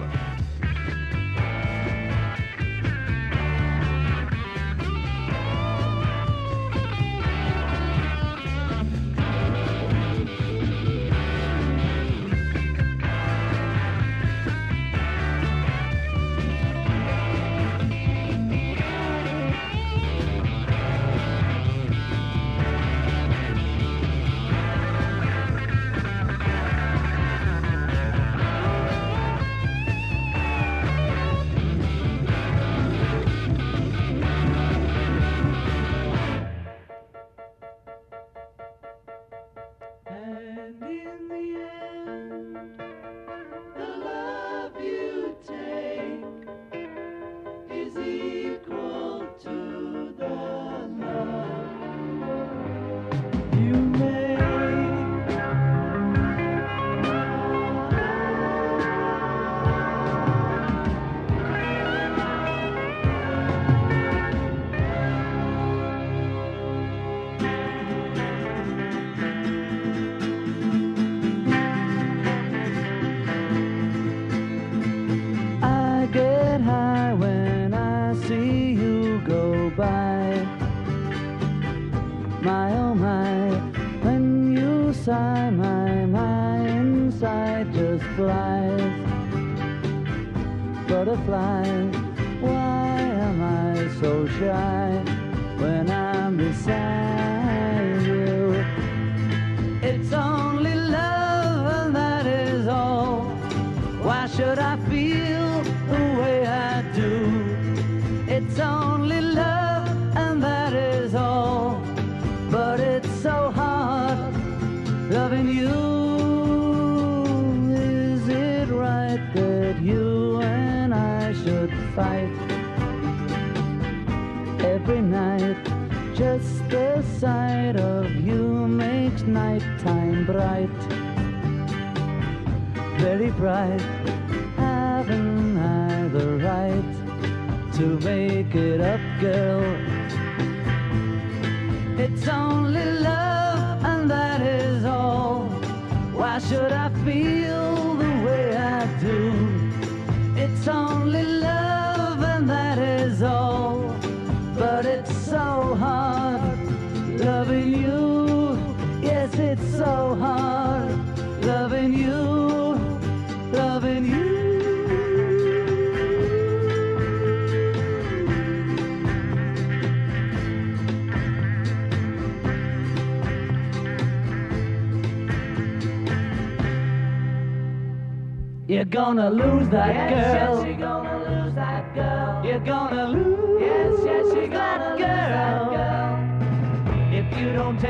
You're gonna lose that yes, girl. Yes, you're gonna lose that girl. You're gonna lose yes, yes, you're that, gonna girl. lose that girl. If you don't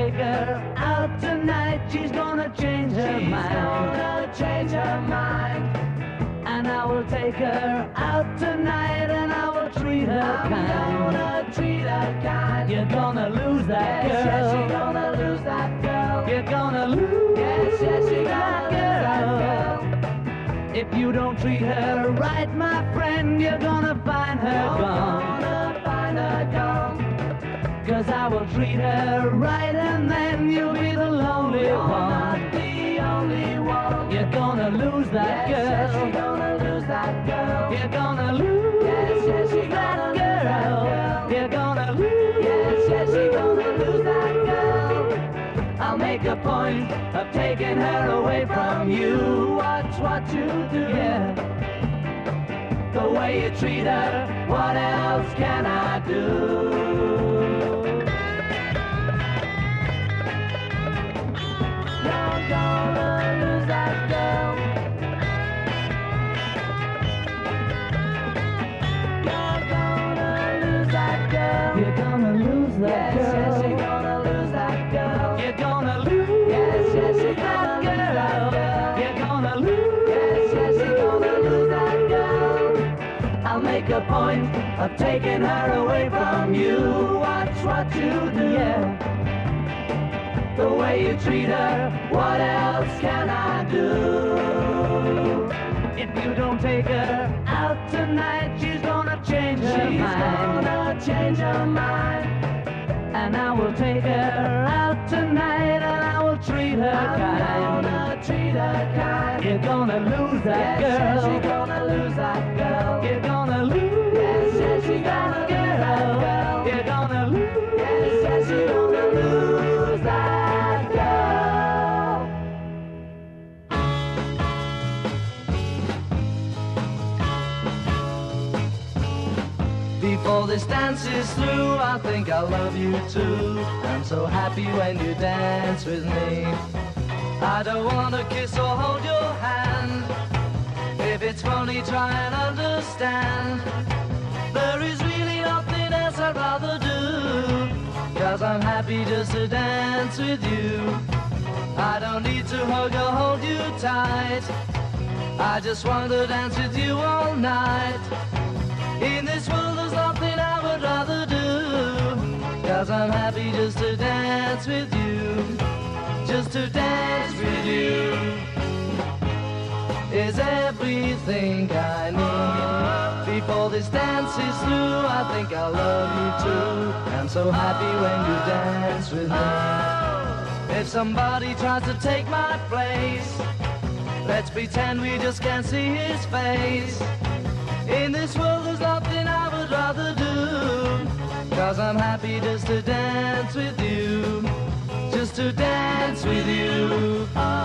treat her kind, you're gonna lose that yes, girl. Yes, you're gonna lose that girl. You're gonna lose yes, yes, you're that, gonna girl. Lose that girl. If you don't treat her right, my friend, you're gonna find her you're gone. Gonna find her gone. Cause I will treat her right, and then you'll be the lonely you're one. Not the only one. You're gonna lose that yes, girl. Yes, you're gonna lose that girl. You're gonna lose yes, yes, you're that, gonna girl. Lose that girl. You're gonna lose yes, yes, you're gonna lose that girl. I'll make a point of taking her away from you. Watch what you do. Yeah. The way you treat her, what else can I do? You're gonna lose that girl. You're gonna lose that girl. You're gonna lose that yes, girl. Yes, you're gonna lose that girl. You're gonna lose. Yes, yes, you're gonna lose that girl. You're gonna lose. Yes, yes, you're gonna lose that girl. I'll make a point of taking her away from you. Watch what you do. Yeah. The way you treat her, what else can I do? If you don't take her out tonight, she's gonna change her she's mind. She's gonna change her mind. And I will take her out tonight, and I will treat her I'm kind. I'm gonna treat her kind. You're gonna lose that yes, girl. Yes, you're gonna lose that girl. You're gonna lose. Yes, yes, you're gonna lose that girl. You're gonna lose. Yes, yes, you're gonna lose that. Before this dance is through, I think I love you too. I'm so happy when you dance with me. I don't want to kiss or hold your hand. If it's funny, try and understand. There is really nothing else I'd rather do, cause I'm happy just to dance with you. I don't need to hug or hold you tight. I just want to dance with you all night. In this world there's nothing I would rather do, cause I'm happy just to dance with you. Just to dance with you is everything I need. Before this dance is through, I think I'll love you too. I'm so happy when you dance with me. If somebody tries to take my place, let's pretend we just can't see his face. In this world there's nothing I would rather do, cause I'm happy just to dance with you. Just to dance with you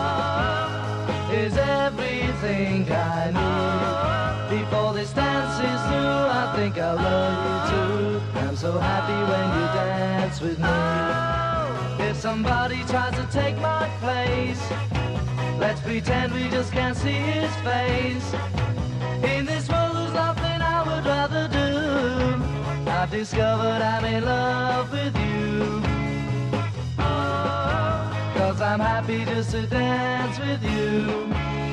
is everything I need. Before this dance is through, I think I love you too. I'm so happy when you dance with me. If somebody tries to take my place, let's pretend we just can't see his face. In this world there's nothing I would rather do. I've discovered I'm in love with you, cause I'm happy just to dance with you.